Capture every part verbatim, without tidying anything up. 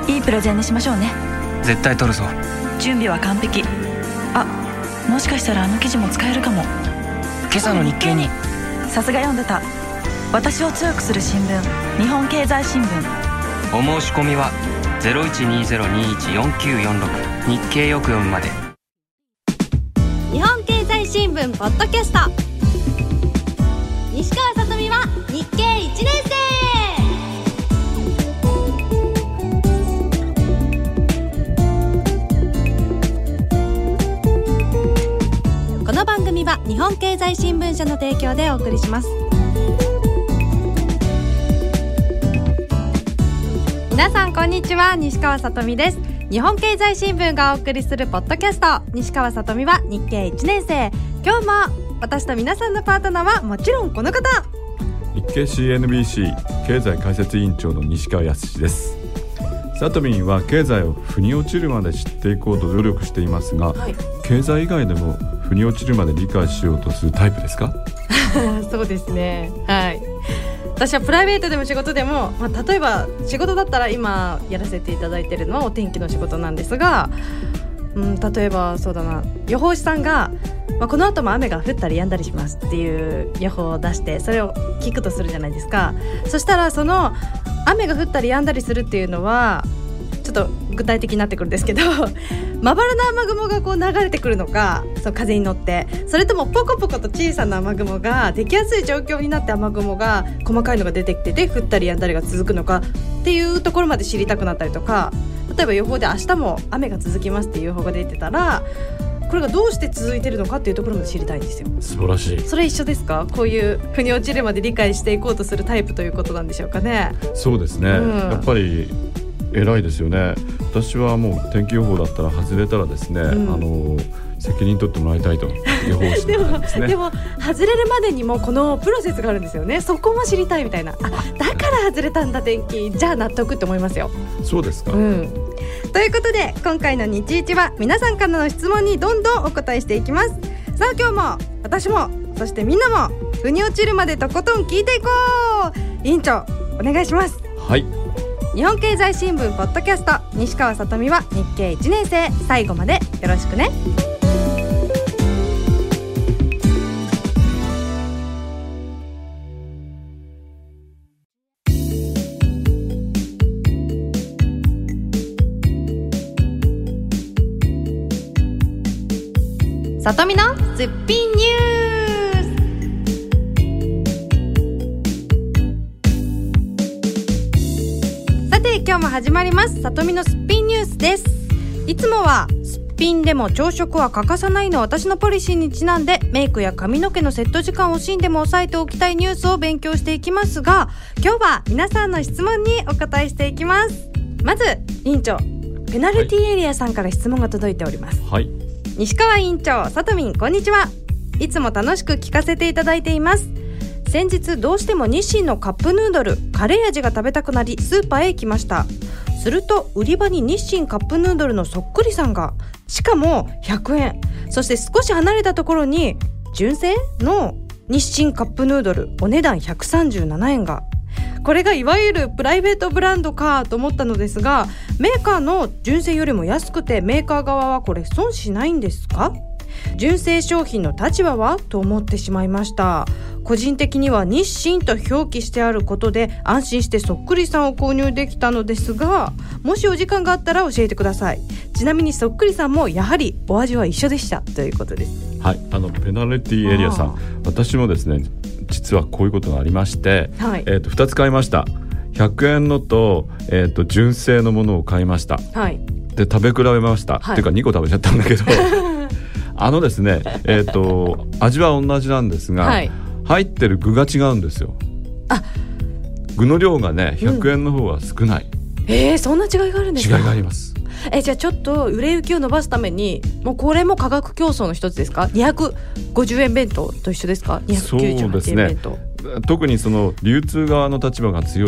いいプレゼンにしましょうね。 絶対取るぞ。 準備は完璧。あ、もしかしたらあの記事も使えるかも。 今朝の日経に。 さすが読んでた。私を強くする新聞、日本経済新聞。 お申し込みは ゼロいちにゼロにいちよんきゅうよんろく 日経よく読むまで。 日本経済新聞ポッドキャスト、西川さとみは日経いちねん生。この番組は日本経済新聞社の提供でお送りします。皆さんこんにちは、西川さとみです。日本経済新聞がお送りするポッドキャスト、西川さとみは日経いちねん生。今日も私と皆さんのパートナーはもちろんこの方、 日経 シーエヌビーシー 経済解説委員長の西川康です。さとみんは経済を腑に落ちるまで知っていこうと努力していますが、はい、経済以外でも腑に落ちるまで理解しようとするタイプですか？ そうですね、はい。私はプライベートでも仕事でも、まあ、例えば仕事だったら今やらせていただいているのはお天気の仕事なんですが、うん、例えばそうだな、予報士さんが、まあ、この後も雨が降ったり止んだりしますっていう予報を出して、それを聞くとするじゃないですか。そしたらその雨が降ったり止んだりするっていうのはちょっと具体的になってくるんですけど、まばらな雨雲がこう流れてくるのか、そう風に乗って、それともポコポコと小さな雨雲ができやすい状況になって、雨雲が細かいのが出てきてて降ったり止んだりが続くのかっていうところまで知りたくなったりとか、例えば予報で明日も雨が続きますっていう予報が出てたら、これがどうして続いてるのかっていうところまで知りたいんですよ。 素晴らしい。 それ一緒ですか？こういう腑に落ちるまで理解していこうとするタイプということなんでしょうかね。 そうですね、うん、やっぱり偉いですよね。私はもう天気予報だったら外れたらですね、うん、あの責任取ってもらいたいと予報士なんですね。 でも、でも外れるまでにもこのプロセスがあるんですよね。そこも知りたいみたいな。あ、だから外れたんだ天気、じゃあ納得って思いますよ。 そうですか、 うん、ということで今回の日一は皆さんからの質問にどんどんお答えしていきます。さあ今日も私もそしてみんなも腑に落ちるまでとことん聞いていこう。委員長お願いします。 はい。 日本経済新聞ポッドキャスト、西川さとみは日経いちねん生。最後までよろしくね。さとみのすっぴんニュース。さて今日も始まります、さとみのすっぴんニュースです。いつもはすっぴんでも朝食は欠かさないの私のポリシーにちなんで、メイクや髪の毛のセット時間を惜しんでも抑えておきたいニュースを勉強していきますが、今日は皆さんの質問にお答えしていきます。まず委員長、ペナルティエリアさんから質問が届いております。 はい。 西川委員長、さとみんこんにちは。いつも楽しく聞かせていただいています。先日どうしても日清のカップヌードルカレー味が食べたくなりスーパーへ行きました。すると売り場に日清カップヌードルのそっくりさんが、しかもひゃくえん、そして少し離れたところに純正の日清カップヌードルお値段ひゃくさんじゅうななえんが、これがいわゆるプライベートブランドかと思ったのですが、メーカーの純正よりも安くてメーカー側はこれ損しないんですか？純正商品の立場はと思ってしまいました。個人的には日清と表記してあることで安心してそっくりさんを購入できたのですが、もしお時間があったら教えてください。ちなみにそっくりさんもやはりお味は一緒でしたということです。 はい、あのペナルティエリアさん、私もですね実はこういうことがありまして、はい、えー、とふたつ買いました。ひゃくえんのと、えー、と純正のものを買いました。はい、で食べ比べました、はい、っていうかにこ食べちゃったんだけどあのですね、えー、と味は同じなんですが、はい、入ってる具が違うんですよ。あ、具の量がねひゃくえんの方は少ない、 うん、えー、そんな違いがあるんですか？ 違いがあります。 えじゃあちょっと売れ行きを伸ばすために、もうこれも価格競争の一つですか？にひゃくごじゅうえん弁当と一緒ですか？にひゃくきゅうじゅうはちえん弁当。 そうですね、特にその流通側の立場が強いと、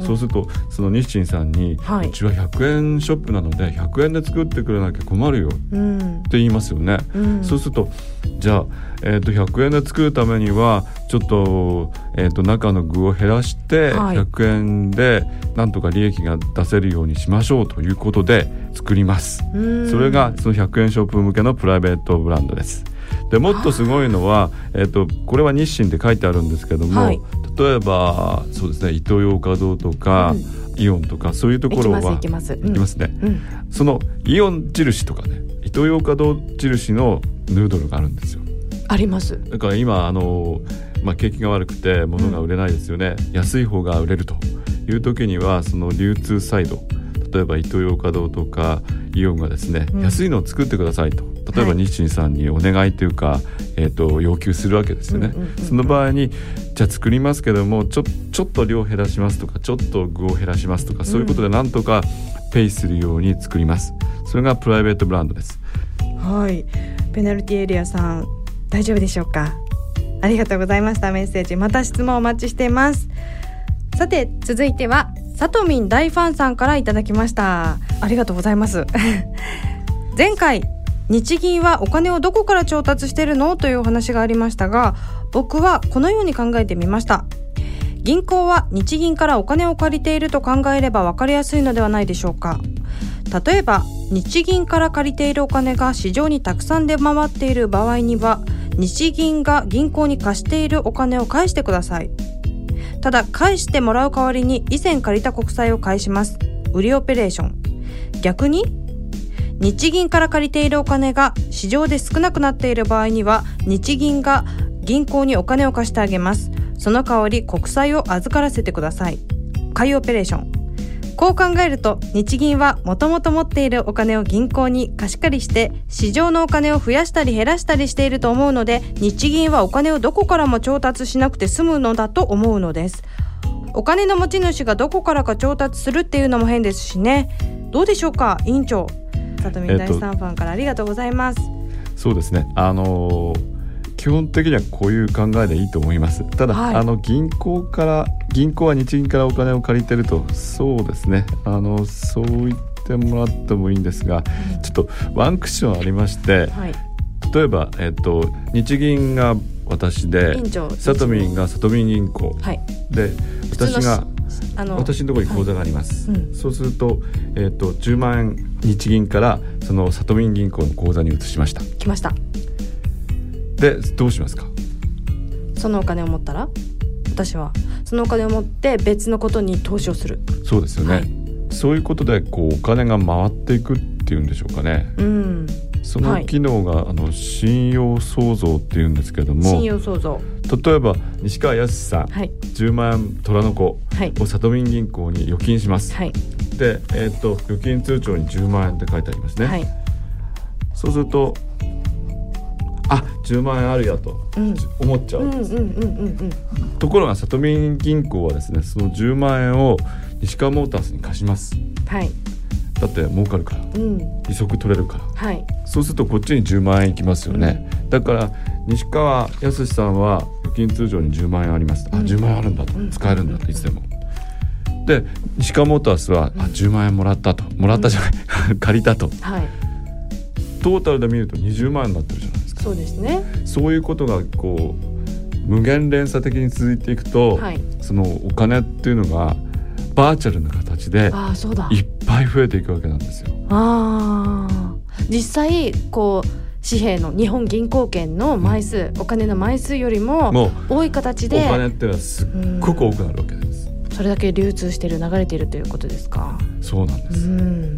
そうするとその日清さんに、はい、うちはひゃくえんショップなのでひゃくえんで作ってくれなきゃ困るよって言いますよね、うん、そうするとじゃあ、えー、とひゃくえんで作るためにはちょっと、えー、と中の具を減らして、はい、ひゃくえんでなんとか利益が出せるようにしましょうということで作ります。それがそのひゃくえんショップ向けのプライベートブランドです。でもっとすごいのは、えー、とこれは日清って書いてあるんですけども、はい、例えばそうですねイトーヨーカドーとか、うん、イオンとかそういうところは行きます行きます、 行きますね、うん、そのイオン印とかねイトーヨーカドー印のヌードルがあるんですよ。 あります。 だから今あの、まあ、景気が悪くて物が売れないですよね、うん、安い方が売れるという時にはその流通サイド例えばイトーヨーカドーとかイオンがですね、うん、安いのを作ってくださいと例えば日清さんにお願いというか、はいえー、と要求するわけですよね、うんうんうんうん、その場合にじゃあ作りますけどもちょ、ちょっと量減らしますとかちょっと具を減らしますとかそういうことでなんとかペイするように作ります。それがプライベートブランドです。 はい、ペナルティエリアさん大丈夫でしょうか。ありがとうございました。メッセージまた質問お待ちしています。さて続いてはさとみん大ファンさんからいただきました。ありがとうございます前回日銀はお金をどこから調達しているのというお話がありましたが、僕はこのように考えてみました。銀行は日銀からお金を借りていると考えれば分かりやすいのではないでしょうか。例えば日銀から借りているお金が市場にたくさん出回っている場合には日銀が銀行に貸しているお金を返してください。ただ返してもらう代わりに以前借りた国債を返します。売りオペレーション。逆に日銀から借りているお金が市場で少なくなっている場合には日銀が銀行にお金を貸してあげます。その代わり国債を預からせてください。買いオペレーション。こう考えると日銀はもともと持っているお金を銀行に貸し借りして市場のお金を増やしたり減らしたりしていると思うので、日銀はお金をどこからも調達しなくて済むのだと思うのです。お金の持ち主がどこからか調達するっていうのも変ですしね。どうでしょうか委員長。さとみん大さんファンからありがとうございます。 そうですね、あのー基本的にはこういう考えでいいと思います。ただ、はい、あの銀行から銀行は日銀からお金を借りてるとそうですねあのそう言ってもらってもいいんですが、うん、ちょっとワンクッションありまして、はい、例えば、えっと、日銀が私でさとみんがさとみん銀行、はい、で私があの私のところに口座があります、はいうん、そうすると、えっと、じゅうまんえん日銀からそのさとみん銀行の口座に移しました。 来ました。 でどうしますか。 そのお金を持ったら私はそのお金を持って別のことに投資をする。 そうですよね、はい、そういうことでこうお金が回っていくっていうんでしょうかね、うん、その機能が、はい、あの信用創造っていうんですけども、 信用創造例えば西川康さん、はい、じゅうまんえん虎の子をさとみん銀行に預金します、はい、で、えー、と預金通帳にじゅうまんえんって書いてありますね、はい、そうするとあじゅうまんえんあるやと思っちゃうんです。ところがさとみん銀行はですねそのじゅうまんえんを西川モータースに貸します、はい、だって儲かるから、うん、利息取れるから、はい、そうするとこっちにじゅうまんえんいきますよね、うん、だから西川康さんは預金通帳にじゅうまんえんあります、うん、あじゅうまんえんあるんだと、うん、使えるんだといつでもで西川モータースは、うん、あじゅうまんえんもらったともらったじゃない、うん、借りたと、はい、トータルで見るとにじゅうまんえんになってるじゃないですか。 そうですね。 そういうことがこう無限連鎖的に続いていくと、はい、そのお金っていうのがバーチャルな形でいっぱい増えていくわけなんですよ。 あ実際こう紙幣の日本銀行券の枚数、うん、お金の枚数よりも多い形でお金っていうのはすっごく多くなるわけです、 うん、それだけ流通している流れているということですか。 そうなんです、うん、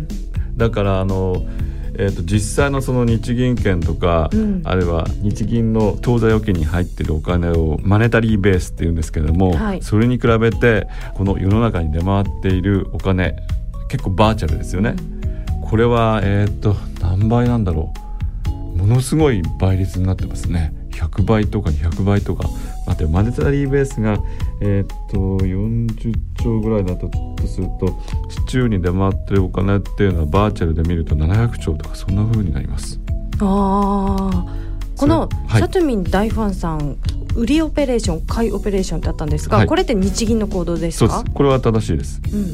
だからあのえー、と実際のその日銀券とか、うん、あるいは日銀の当座預金に入っているお金をマネタリーベースっていうんですけれども、はい、それに比べてこの世の中に出回っているお金結構バーチャルですよね、うん、これは、えー、と何倍なんだろうものすごい倍率になってますね。ひゃくばいとかにひゃくばいとか待ってマネタリーベースが、えー、とよんじゅっちょうぐらいだったとすると市中に出回ってるお金っていうのはバーチャルで見るとななひゃくちょうとかそんな風になります。 あこのさとみん大ファンさん売りオペレーション買いオペレーションってあったんですが、はい、これって日銀の行動ですか？ そうです。これは正しいです、うん、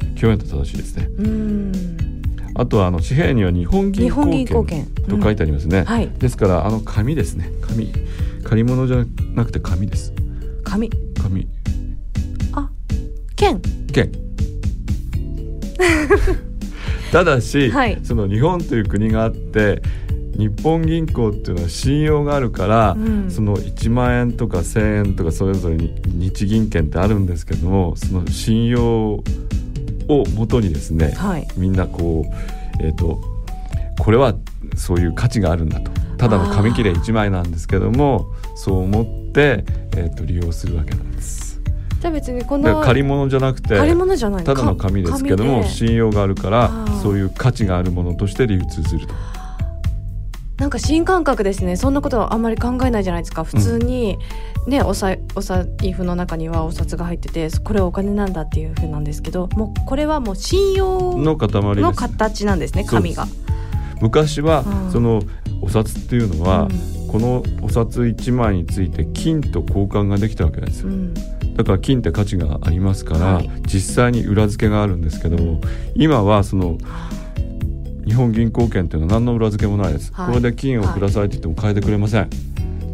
極めて正しいですね。うーん、あとはあの紙幣には日本銀行券と書いてありますね、うん、はい、ですからあの紙ですね。紙、借り物じゃなくて紙です。 紙紙あ、券券ただし、はい、その日本という国があって日本銀行っていうのは信用があるから、うん、そのいちまんえんとかせんえんとかそれぞれに日銀券ってあるんですけども、その信用をもとにですね、はい、みんなこう、えーと、これはそういう価値があるんだと、ただの紙切れいちまいなんですけどもそう思って、えーと、利用するわけなんです。 じゃあ別にこの借り物じゃなくて借り物じゃないただの紙ですけども信用があるからそういう価値があるものとして流通すると。 なんか新感覚ですね。そんなことはあんまり考えないじゃないですか。普通に、ね、おさ、お財布の中にはお札が入っててこれはお金なんだっていう風なんですけど、もうこれはもう信用の塊です、 の形なんですね、紙が。 昔はそのお札っていうのは、うん、このお札いちまいについて金と交換ができたわけですよ、うん、だから金って価値がありますから、はい、実際に裏付けがあるんですけども、今はその日本銀行券っていうのは何の裏付けもないです、はい、これで金をくださいって言っても変えてくれません、はい、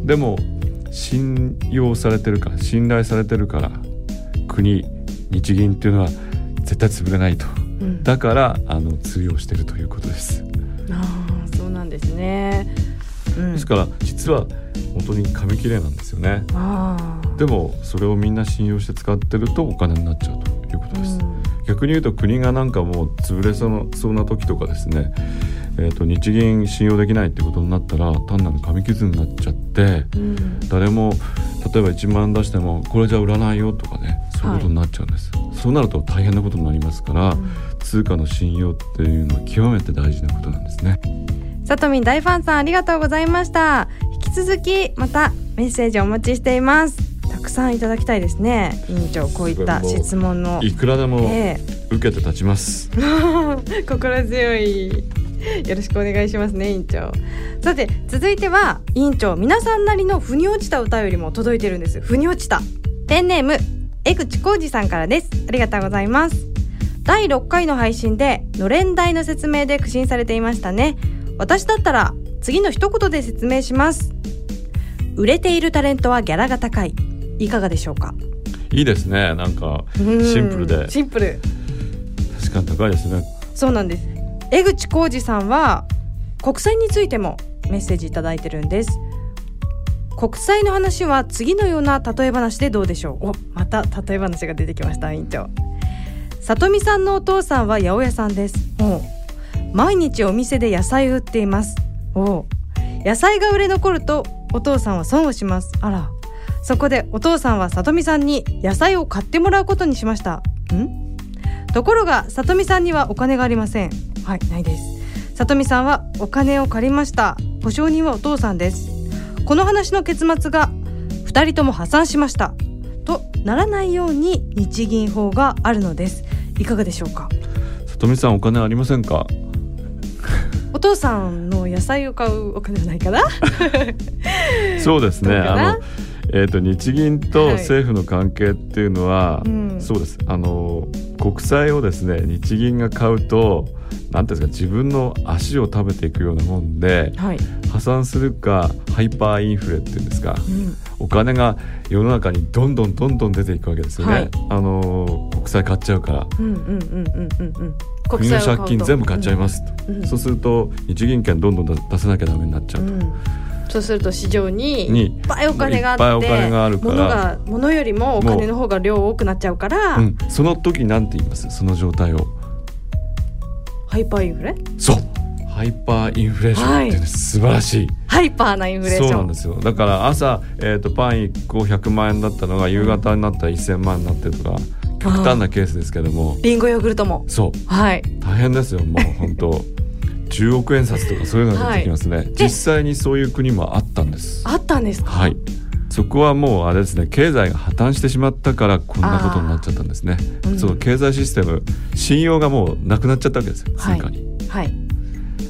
でも信用されてるから信頼されてるから国日銀っていうのは絶対潰れないと、うん、だからあの通用してるということです。 あ、そうなんですね、うん、 ですから実は本当に紙切れなんですよね。あ、でもそれをみんな信用して使ってるとお金になっちゃうということです、うん、逆に言うと国がなんかもう潰れそうな時とかですね、えーと、日銀信用できないってことになったら単なる紙くずになっちゃって、うん、誰も例えばいちまんえん出してもこれじゃ売らないよとかね、そういうことになっちゃうんです、はい、そうなると大変なことになりますから、うん、通貨の信用っていうのは極めて大事なことなんですね。 さとみん大ファンさんありがとうございました。引き続きまたメッセージお待ちしています。たくさんいただきたいですね。委員長、こういった質問のいくらでも受けて立ちます、えー、心強い、よろしくお願いしますね、委員長。さて続いては委員長、皆さんなりの腑に落ちたお便りも届いてるんです。腑に落ちたペンネーム江口浩二さんからです。ありがとうございます。だいろっかいの配信でのれん台の説明で苦心されていましたね。私だったら次の一言で説明します。売れているタレントはギャラが高い。いかがでしょうか。 いいですね。なんかシンプルでシンプル、 確かに高いですね。 そうなんです。江口浩二さんは国債についてもメッセージいただいてるんです。国債の話は次のような例え話でどうでしょう。お、また例え話が出てきました。委員長、里見さんのお父さんは八百屋さんです。お、毎日お店で野菜を売っています。お、野菜が売れ残るとお父さんは損をします。あら、そこでお父さんは里見さんに野菜を買ってもらうことにしました。んところが里見さんにはお金がありません。はい、ないです。里見さんはお金を借りました。保証人はお父さんです。この話の結末がふたりとも破産しましたとならないように日銀法があるのです。いかがでしょうか。 里見さん、お金ありませんか。 お父さんの野菜を買うお金はないかなそうですね、あの、えーと、日銀と政府の関係っていうのは、はい、うん、そうです。あの国債をですね、日銀が買うとなんていうんですか、自分の足を食べていくようなもんで、はい、破産するかハイパーインフレっていうんですか、うん、お金が世の中にどんどんどんどん出ていくわけですよね、はい、あの国債買っちゃうから、うんうんうんうんうん国の借金全部買っちゃいますと、うんうん、そうすると日銀券どんどん出さなきゃダメになっちゃうと、うん、 そうすると市場にいっぱいお金があって、いっぱいお金があるから、物が物よりもお金の方が量多くなっちゃうから、うん、 その時なんて言います？その状態をハイパーインフレ？ そう、ハイパーインフレーションっていうのは素晴らしい、 ハイパーなインフレーション。 そうなんですよ。だから朝、えーと、パンいっこひゃくまんえんだったのが夕方になったらせんまんになってるとか、極端なケースですけども、 リンゴヨーグルトもそう、はい、大変ですよ。もう本当じゅうおくえん札とかそういうのが出てきますね、はい、実際にそういう国もあったんです。 あったんですか。 はい、そこはもうあれですね、経済が破綻してしまったからこんなことになっちゃったんですね、うん、その経済システム、信用がもうなくなっちゃったわけですよ、通貨に、はいはい、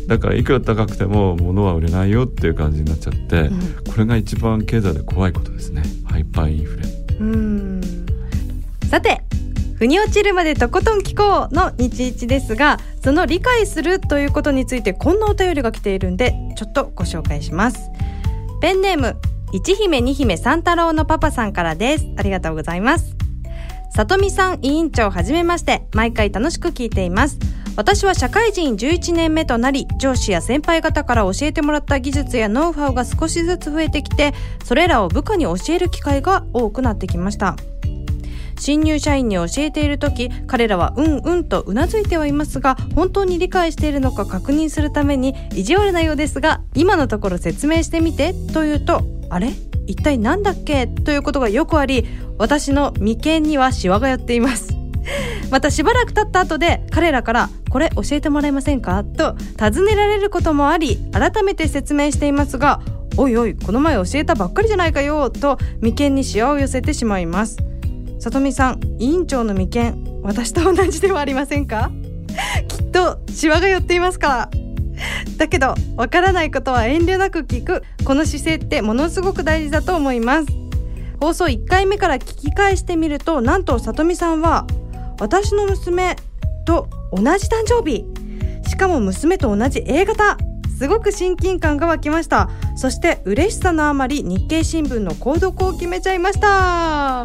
だからいくら高くても物は売れないよっていう感じになっちゃって、うん、これが一番経済で怖いことですね。ハイパーインフレ。 うーんさて腑に落ちるまでとことん聞こうの日一ですが、その理解するということについてこんなお便りが来ているんでちょっとご紹介します。ペンネームいち姫に姫三太郎のパパさんからです。ありがとうございます。さとみさん委員長はじめまして、毎回楽しく聞いています。私は社会人じゅういちねんめとなり、上司や先輩方から教えてもらった技術やノウハウが少しずつ増えてきて、それらを部下に教える機会が多くなってきました。新入社員に教えているとき、彼らはうんうんとうなずいてはいますが、本当に理解しているのか確認するために意地悪なようですが、今のところ説明してみてと言うと、あれ一体なんだっけということがよくあり、私の眉間にはシワが寄っています。またしばらく経った後で彼らからこれ教えてもらえませんかと尋ねられることもあり、改めて説明していますが、おいおいこの前教えたばっかりじゃないかよと眉間にシワを寄せてしまいます。さとみさん、委員長の眉間、私と同じではありませんか？きっとシワが寄っていますから。だけどわからないことは遠慮なく聞く、この姿勢ってものすごく大事だと思います。放送いっかいめから聞き返してみると、なんとさとみさんは私の娘と同じ誕生日、しかも娘と同じ A 型。すごく親近感が湧きました。そして嬉しさのあまり日経新聞の購読を決めちゃいました。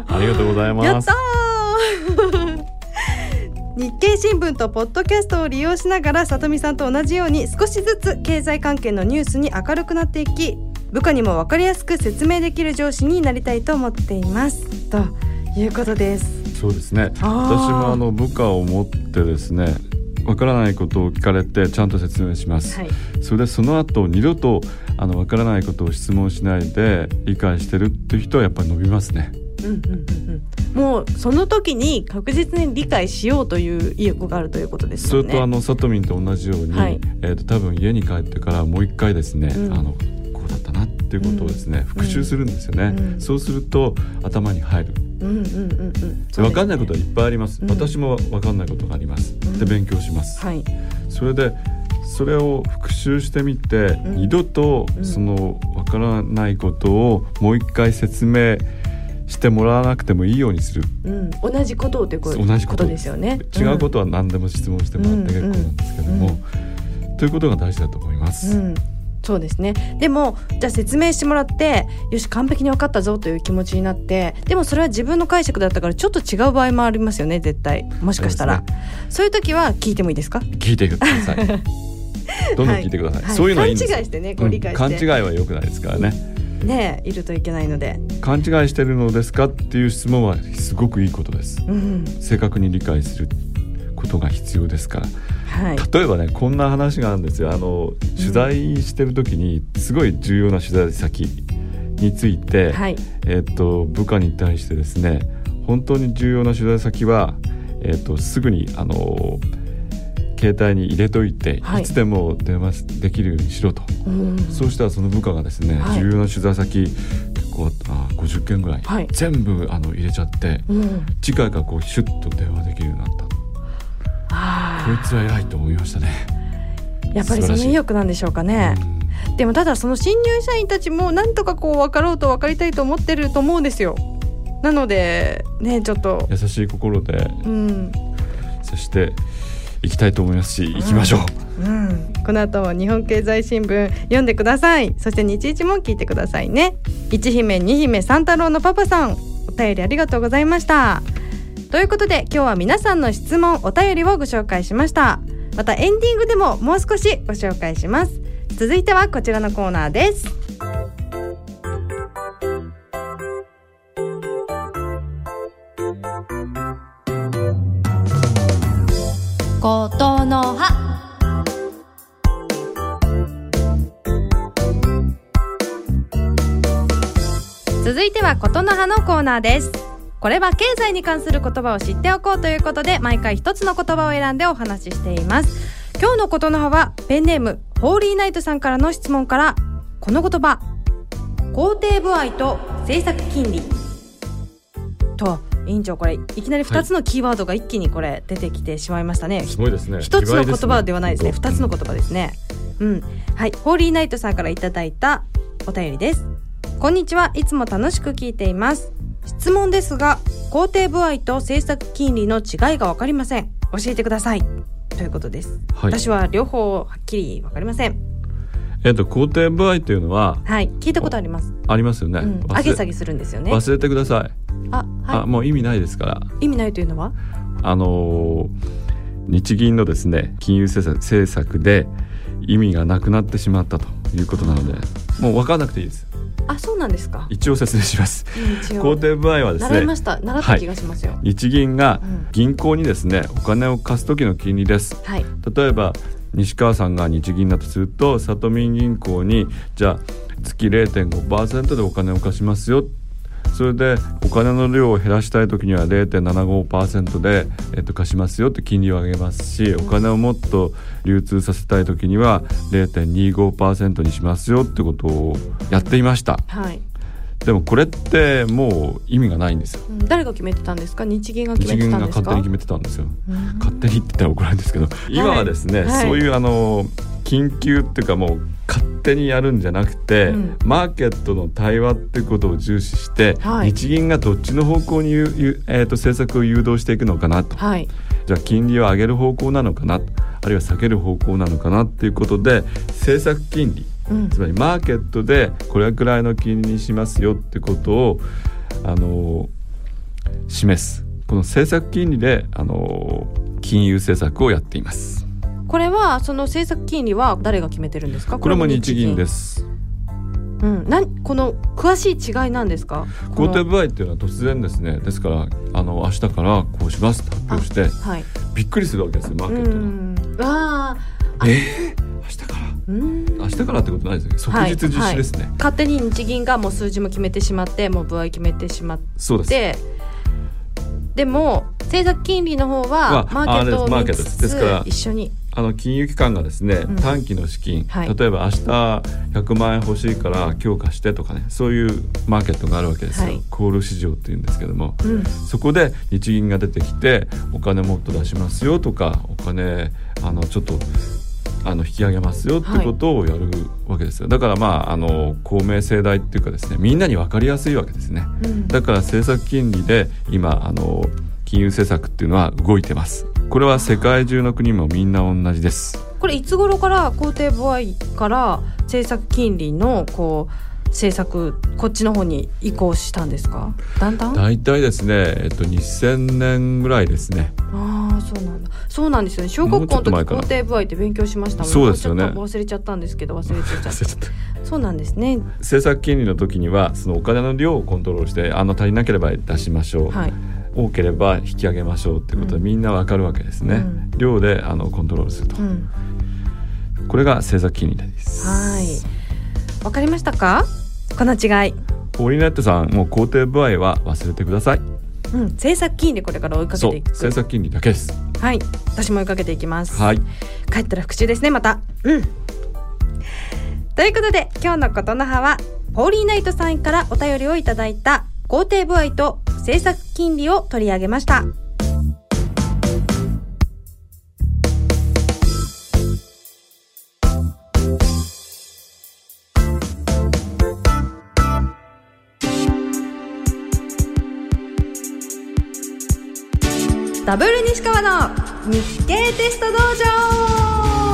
ありがとうございます。 やったー日経新聞とポッドキャストを利用しながら、さとみさんと同じように少しずつ経済関係のニュースに明るくなっていき、部下にも分かりやすく説明できる上司になりたいと思っていますということです。 そうですね、私もあの部下を持ってですね、わからないことを聞かれてちゃんと説明します、はい、それでその後二度とあのわからないことを質問しないで理解してるっていう人はやっぱり伸びますね。 うんうんうんうん、もうその時に確実に理解しようという意欲があるということですよね。 それとあのさとみんと同じように、はい、えー、と多分家に帰ってからもう一回ですね、うん、あのこうだったなっていうことをですね、うん、復習するんですよね、うん、そうすると頭に入る。うんうんうんうん、で分かんないことはいっぱいあります、うん、私も分かんないことがあります、うん、で勉強します、はい、それでそれを復習してみて、うん、二度とその分からないことをもう一回説明してもらわなくてもいいようにする、 うん、同じことをということですよね。 違うことは何でも質問してもらって結構なんですけども、うんうん、ということが大事だと思います、うん、 そうですね。でもじゃあ説明してもらって、よし完璧に分かったぞという気持ちになって、でもそれは自分の解釈だったからちょっと違う場合もありますよね、絶対。もしかしたら そう、ね,、そういう時は聞いてもいいですか？ 聞いてくださいどんどん聞いてください、はい、そういうのはいいんです。 勘違いしてね、こう理解して、 うん、勘違いは良くないですからね、 ねえ、いるといけないので。 勘違いしてるのですかっていう質問はすごくいいことです、うん、正確に理解することが必要ですから、はい、例えばね、こんな話があるんですよ。あの取材してる時にすごい重要な取材先について、はい、えー、と部下に対してですね、本当に重要な取材先は、えー、とすぐにあの携帯に入れといて、はい、いつでも電話できるようにしろと、うん、そうしたらその部下がですね、はい、重要な取材先結構あごじゅっけんぐらい、はい、全部あの入れちゃって、うん、次回からこうシュッと電話できるようになった。こいつは偉いと思いましたね。 やっぱりその意欲なんでしょうかね、うん、でもただその新入社員たちもなんとかこう分かろうと分かりたいと思ってると思うんですよ。なのでね、ちょっと優しい心で、うん、そして行きたいと思いますし、行きましょう、うんうん、 この後も日本経済新聞読んでください。そして日一も聞いてくださいね。一姫二姫三太郎のパパさん、お便りありがとうございました。ということで今日は皆さんの質問お便りをご紹介しました。またエンディングでももう少しご紹介します。続いてはこちらのコーナーです。ことの葉。続いてはことの葉のコーナーです。これは経済に関する言葉を知っておこうということで、毎回一つの言葉を選んでお話ししています。今日のことの葉はペンネームホーリーナイトさんからの質問から、この言葉、肯定歩合と政策金利と、委員長これいきなりふたつのキーワードが一気にこれ出てきてしまいましたね、はい、 すごいですね。 ひとつの言葉ではないですね、ふたつの言葉ですね。 うん、はい、ホーリーナイトさんからいただいたお便りです。こんにちは、いつも楽しく聞いています。質問ですが、肯定歩合と政策金利の違いが分かりません。教えてくださいということです、はい、私は両方はっきり分かりません。 えっと、肯定歩合というのは、 はい、聞いたことあります。 ありますよね、うん、 上げ下げするんですよね。 忘れてください。 あ、はい、 あ、もう意味ないですから。 意味ないというのは、 あのー、日銀のですね金融政策、政策で意味がなくなってしまったということなので、もう分からなくていいです。 あ、そうなんですか。 一応説明します。肯定歩合はですね、 習いました。習った気がしますよ、はい、 日銀が銀行にですね、お金を貸す時の金利です、はい、例えば西川さんが日銀だとすると、里民銀行にじゃあ月 れいてんごパーセント でお金を貸しますよ。それでお金の量を減らしたい時には れいてんななごパーセント で、えっと、貸しますよって金利を上げますし、お金をもっと流通させたい時には れいてんにごパーセント にしますよってことをやっていました、はい、でもこれってもう意味がないんですよ、 うん、誰が決めてたんですか。日銀が決めてたんですか。 日銀が勝手に決めてたんですよ、うん、勝手にって言ったら怒られるんですけど、今はですね、はい、そういうあの緊急っていうかもう勝手にやるんじゃなくて、うん、マーケットの対話ってことを重視して、はい、日銀がどっちの方向に、えー、と政策を誘導していくのかなと、はい、じゃあ金利を上げる方向なのかな、あるいは下げる方向なのかなっていうことで、政策金利、うん、つまりマーケットでこれくらいの金利にしますよってことを、あのー、示す、この政策金利で、あのー、金融政策をやっています。 これはその政策金利は誰が決めてるんですか。 これも日銀です、 うん、なこの詳しい違いなんですか。 肯定歩合っていうのは突然ですね、ですからあの明日からこうしますと発表して、はい、びっくりするわけですよ、マーケットが。うん、ああ、えー、明日からうん明日からってことないですね、即日実施ですね、はいはい、 勝手に日銀がもう数字も決めてしまって、もう歩合決めてしまって、そうです。でも政策金利の方はマーケットを見つつ一緒に、 あの金融機関がですね、うん、短期の資金、はい、例えば明日ひゃくまんえん欲しいから今日貸してとかね、そういうマーケットがあるわけですよ、はい、コール市場っていうんですけども、うん、そこで日銀が出てきてお金もっと出しますよとか、お金あのちょっとあの引き上げますよってことをやるわけですよ、はい、だからまああの公明正大っていうかですね、みんなに分かりやすいわけですね、うん、だから政策金利で今あの金融政策っていうのは動いてます。これは世界中の国もみんな同じです。 これいつ頃から肯定歩合から政策金利のこう政策こっちの方に移行したんですか。だんだんだいたいですね、えっと、にせんねんぐらいですね。 ああ、そうなんだ。そうなんですよね。小学校の時肯定歩合って勉強しましたもん。 そうですよね。 ちょっと忘れちゃったんですけど忘れちゃったそうなんですね。 政策金利の時にはそのお金の量をコントロールして、あの足りなければ出しましょう、はい、多ければ引き上げましょうっていうことでみんなわかるわけですね、うん、量であのコントロールすると、うん、これが政策金利です。 はい、わかりましたか、この違い。 ホーリーナイトさん、もう肯定歩合は忘れてください。 うん、政策金利これから追いかけていく。 そう、政策金利だけです。 はい、私も追いかけていきます、 はい、 帰ったら復習ですね、また。うんということで今日のことの葉はホーリーナイトさんからお便りをいただいた肯定歩合と政策金利を取り上げました。ダブル西川の日経テスト道場。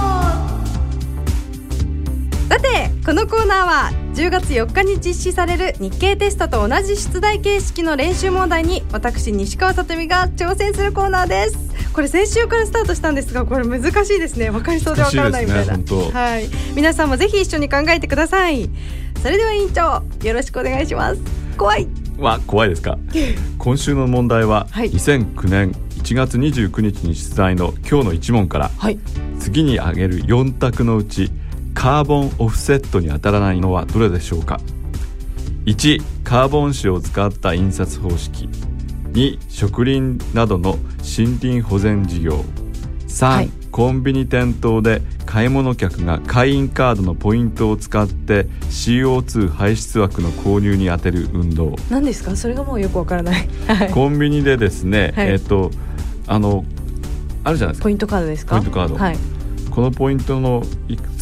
さてこのコーナーはじゅうがつよっかに実施される日経テストと同じ出題形式の練習問題に私西川さとみが挑戦するコーナーです。これ先週からスタートしたんですが、これ難しいですね。分かりそうで分からないみたいな、ね、はい、皆さんもぜひ一緒に考えてください。それでは委員長よろしくお願いします。怖いわ、怖いですか今週の問題は、はい、にせんきゅうねんいちがつにじゅうくにちに出題の今日のいち問から、はい、次に挙げるよん択のうちカーボンオフセットに当たらないのはどれでしょうか。いちカーボン紙を使った印刷方式、に植林などの森林保全事業、さん、はい、コンビニ店頭で買い物客が会員カードのポイントを使って シーオーツー 排出枠の購入に充てる運動。 何ですかそれがもうよくわからないコンビニでですね、はい、えっとあのあるじゃないですか、 ポイントカードですか。 ポイントカード、はい、このポイントのいくつ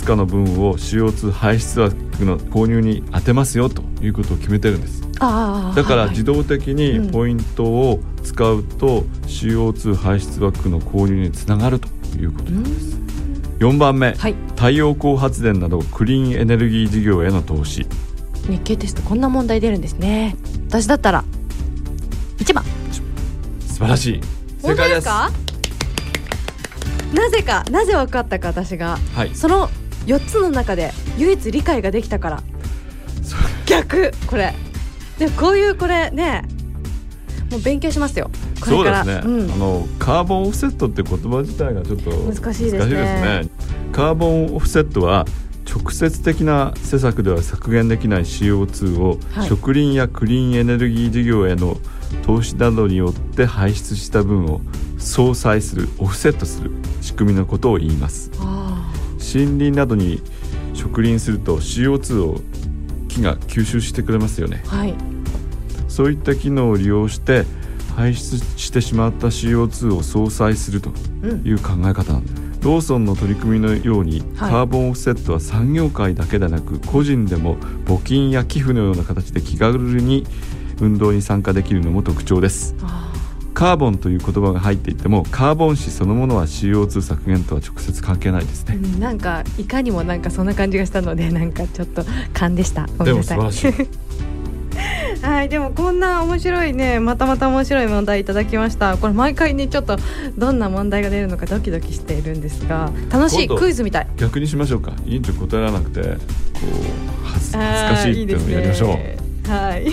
つかの分を シーオーツー 排出枠の購入に当てますよということを決めてるんです。 あだから自動的にポイントを使うと シーオーツー 排出枠の購入につながるということなんです。よんばんめ、はい、太陽光発電などクリーンエネルギー事業への投資。 日経テストこんな問題出るんですね。私だったらいちばん。 素晴らしい、正解です。 本当ですか？なぜかなぜ分かったか私が、はい、そのよっつの中で唯一理解ができたから。逆これでこういうこれねもう勉強しますよこれから。 そうですね、うん、あのカーボンオフセットって言葉自体がちょっと難しいです ね, 難しいですね。 カーボンオフセットは直接的な施策では削減できない シーオーツー を、はい、植林やクリーンエネルギー事業への投資などによって排出した分を相殺するオフセットする仕組みのことを言います。森林などに植林すると シーオーツー を木が吸収してくれますよね、はい、そういった機能を利用して排出してしまった シーオーツー を相殺するという考え方なんです、うん、ローソンの取り組みのように、はい、カーボンオフセットは産業界だけでなく個人でも募金や寄付のような形で気軽に運動に参加できるのも特徴です。カーボンという言葉が入っていてもカーボン紙そのものは シーオーツー 削減とは直接関係ないですね、 うん、なんかいかにもなんかそんな感じがしたのでなんかちょっと勘でした。ごめんなさい。 でも素晴らしいはい、でもこんな面白いねまたまた面白い問題いただきました。これ毎回ねちょっとどんな問題が出るのかドキドキしているんですが楽しいクイズみたい。 逆にしましょうか。委員長答えられなくてこう恥ずかしいっていうのをやりましょう。いいですね、はい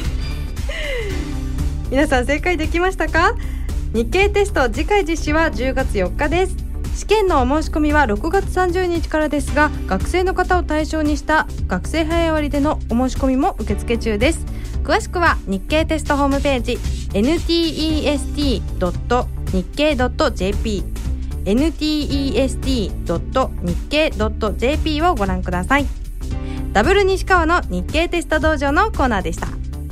皆さん正解できましたか？日経テスト次回実施はじゅうがつよっかです。試験のお申し込みはろくがつさんじゅうにちからですが学生の方を対象にした学生早割でのお申し込みも受付中です。詳しくは日経テストホームページ エヌティーイーエスティードットニッケイドットジェーピー エヌティーイーエスティードットニッケイドットジェーピー をご覧ください。ダブル西川の日経テスト道場のコーナーでした。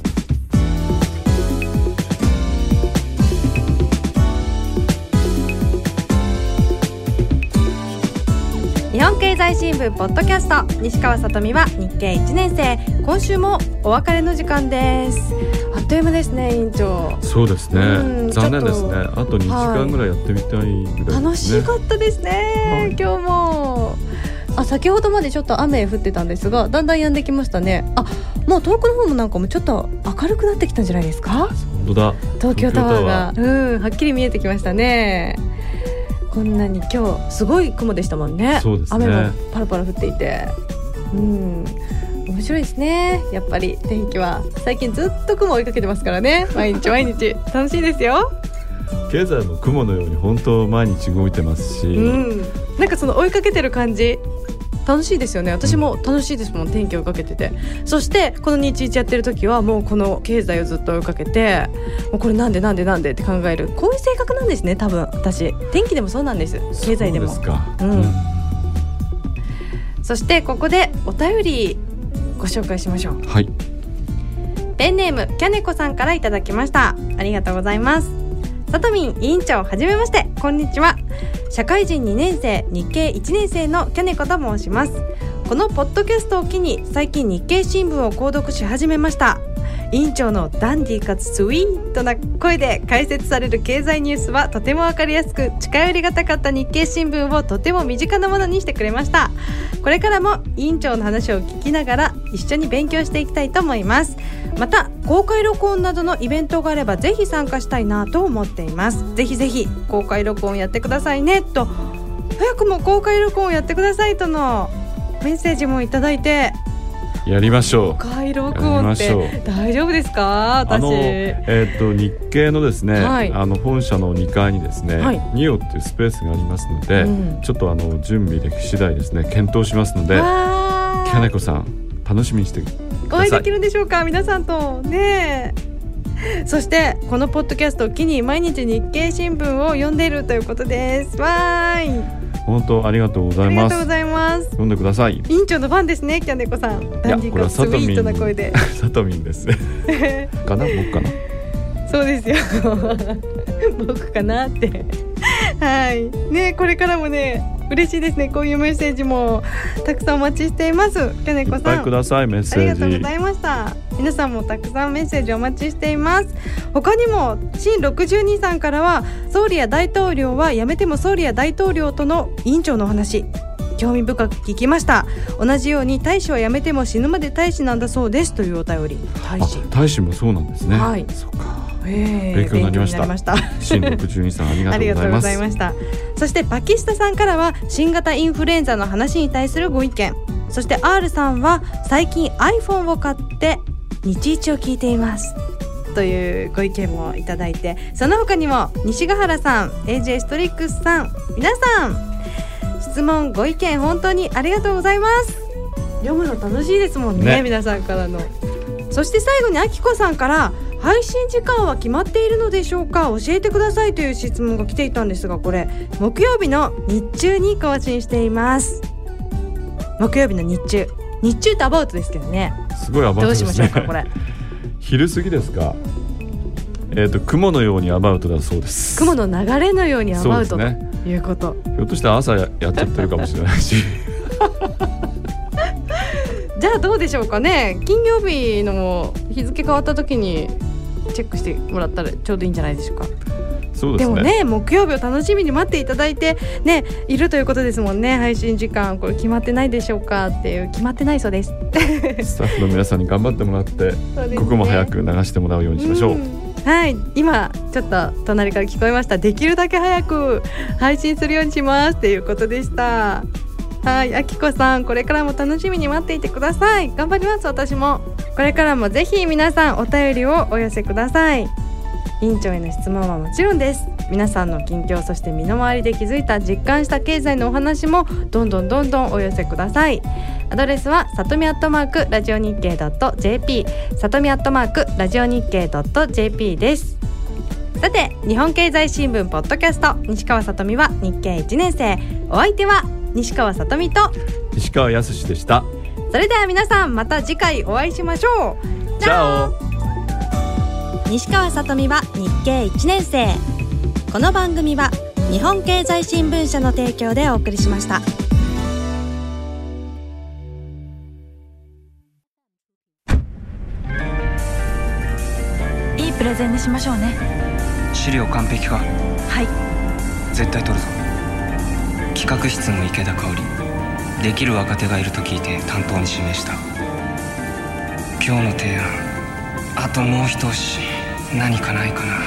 日本経済新聞ポッドキャスト西川さとみは日経いちねん生。今週もお別れの時間です。あっという間ですね委員長。 そうですね、残念ですね。あとにじかんぐらいやってみたいぐらいですね、はい、楽しかったですね、はい、今日もあ先ほどまでちょっと雨降ってたんですがだんだん止んできましたね。あもう遠くの方もなんかもちょっと明るくなってきたんじゃないですか。 本当だ東京タワーがうんはっきり見えてきましたね。こんなに今日すごい雲でしたもんね。 そうですね、 雨もパラパラ降っていてうん面白いですね。やっぱり天気は最近ずっと雲追いかけてますからね毎日毎日楽しいですよ。 経済も雲のように本当毎日動いてますし、うん、 なんかその追いかけてる感じ楽しいですよね。私も楽しいですもん天気を追いかけてて。そしてこの日一やってる時はもうこの経済をずっと追いかけてもうこれなんでなんでなんでって考えるこういう性格なんですね多分私。天気でもそうなんです経済でも。 そうですか、 うんうん、そしてここでお便りご紹介しましょう。 はい、 ペンネームキャネコさんからいただきました。ありがとうございます。さとみん委員長はじめまして、こんにちは。社会人にねん生日経いちねん生のキャネコと申します。このポッドキャストを機に最近日経新聞を購読し始めました。委員長のダンディーかつスイートな声で解説される経済ニュースはとてもわかりやすく近寄りがたかった日経新聞をとても身近なものにしてくれました。これからも委員長の話を聞きながら一緒に勉強していきたいと思います。また公開録音などのイベントがあればぜひ参加したいなと思っています。ぜひぜひ公開録音やってくださいねと、早くも公開録音やってくださいとのメッセージもいただいて、 やりましょう。 公開録音って大丈夫ですか？私あの、えー、と日経のですね、はい、あの本社のにかいにですね、はい、ニオっていうスペースがありますので、うん、ちょっとあの準備でき次第ですね検討しますので、キャネコさん楽しみにしてください。 お会いできるんでしょうか皆さんとね。そしてこのポッドキャストを機に毎日日経新聞を読んでいるということです。わーい、 本当ありがとうございます。 ありがとうございます。 読んでください。 委員長のファンですね、キャネコさん。ダンディーかスイートな声で。 サトミンですかな、僕かな。 そうですよ僕かなってはいね、これからもね嬉しいですね。こういうメッセージもたくさんお待ちしています。きょねこさん、いっぱいください。メッセージありがとうございました。皆さんもたくさんメッセージお待ちしています。他にも新ろくじゅうにさんからは、総理や大統領は辞めても総理や大統領との委員長のお話、興味深く聞きました。同じように大使は辞めても死ぬまで大使なんだそうですというお便り。大使大使もそうなんですね。 はい、 そうか、 えー、 勉強になりました。 勉強になりました新ろくじゅうにさんありがとうございます。ありがとうございました。 そしてパキスタさんからは新型インフルエンザの話に対するご意見、そして R さんは最近 iPhone を買って日一を聞いていますというご意見もいただいて、その他にも西ヶ原さん、 エージェー ストリックスさん、皆さん質問ご意見本当にありがとうございます。読むの楽しいですもん ね, ね皆さんからの。そして最後にあきこさんから、配信時間は決まっているのでしょうか、教えてくださいという質問が来ていたんですが、これ木曜日の日中に更新しています。木曜日の日中、日中ってアバウトですけどね。 すごいアバウトですね。 どうしましょうかこれ昼過ぎですか。えーと、雲のようにアバウトだそうです。 雲の流れのようにアバウトということ、 ひょっとして朝 や, やっちゃってるかもしれないしじゃあどうでしょうかね。金曜日の日付変わった時にチェックしてもらったらちょうどいいんじゃないでしょうか。 そうですね。 でもね、木曜日を楽しみに待っていただいて、ね、いるということですもんね。配信時間これ決まってないでしょうかっていう、決まってないそうですスタッフの皆さんに頑張ってもらって、ね、ここも早く流してもらうようにしましょう、うん、 はい、今ちょっと隣から聞こえました。できるだけ早く配信するようにしますっていうことでした。はい、あきこさん、これからも楽しみに待っていてください。頑張ります。私もこれからもぜひ皆さんお便りをお寄せください。委員長への質問はもちろんです。皆さんの近況、そして身の回りで気づいた実感した経済のお話もどんどんどんどんお寄せください。アドレスはさとみアットマークラジオ日経 .jp、 さとみアットマークラジオ日経 .jp です。さて、日本経済新聞ポッドキャスト、西川さとみは日経いちねん生。お相手は西川さとみと石川康でした。 それでは皆さん、また次回お会いしましょう。 チャオ。 西川さとみは日経いちねん生。この番組は日本経済新聞社の提供でお送りしました。いいプレゼンにしましょうね。 資料完璧か？ はい、 絶対取るぞ。企画室の池田香織、できる若手がいると聞いて担当に指名した。今日の提案、あともう一押し何かないかな。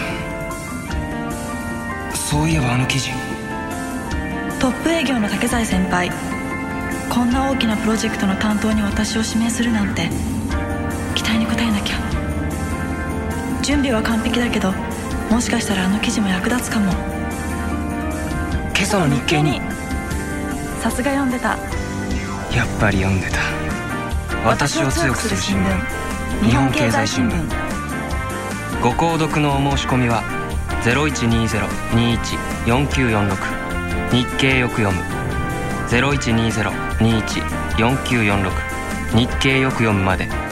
そういえばあの記事、 トップ営業の竹財先輩、こんな大きなプロジェクトの担当に私を指名するなんて、期待に応えなきゃ。準備は完璧だけど、もしかしたらあの記事も役立つかも。 今朝の日経に。 さすが読んでた。 やっぱり読んでた。私を強くする新聞、日本経済新聞。ご購読のお申し込みは ゼロいちにーゼロ にーいち よんきゅうよんろく、 日経よく読む ゼロいちにーゼロ にーいち よんきゅうよんろく 日経よく読むまで。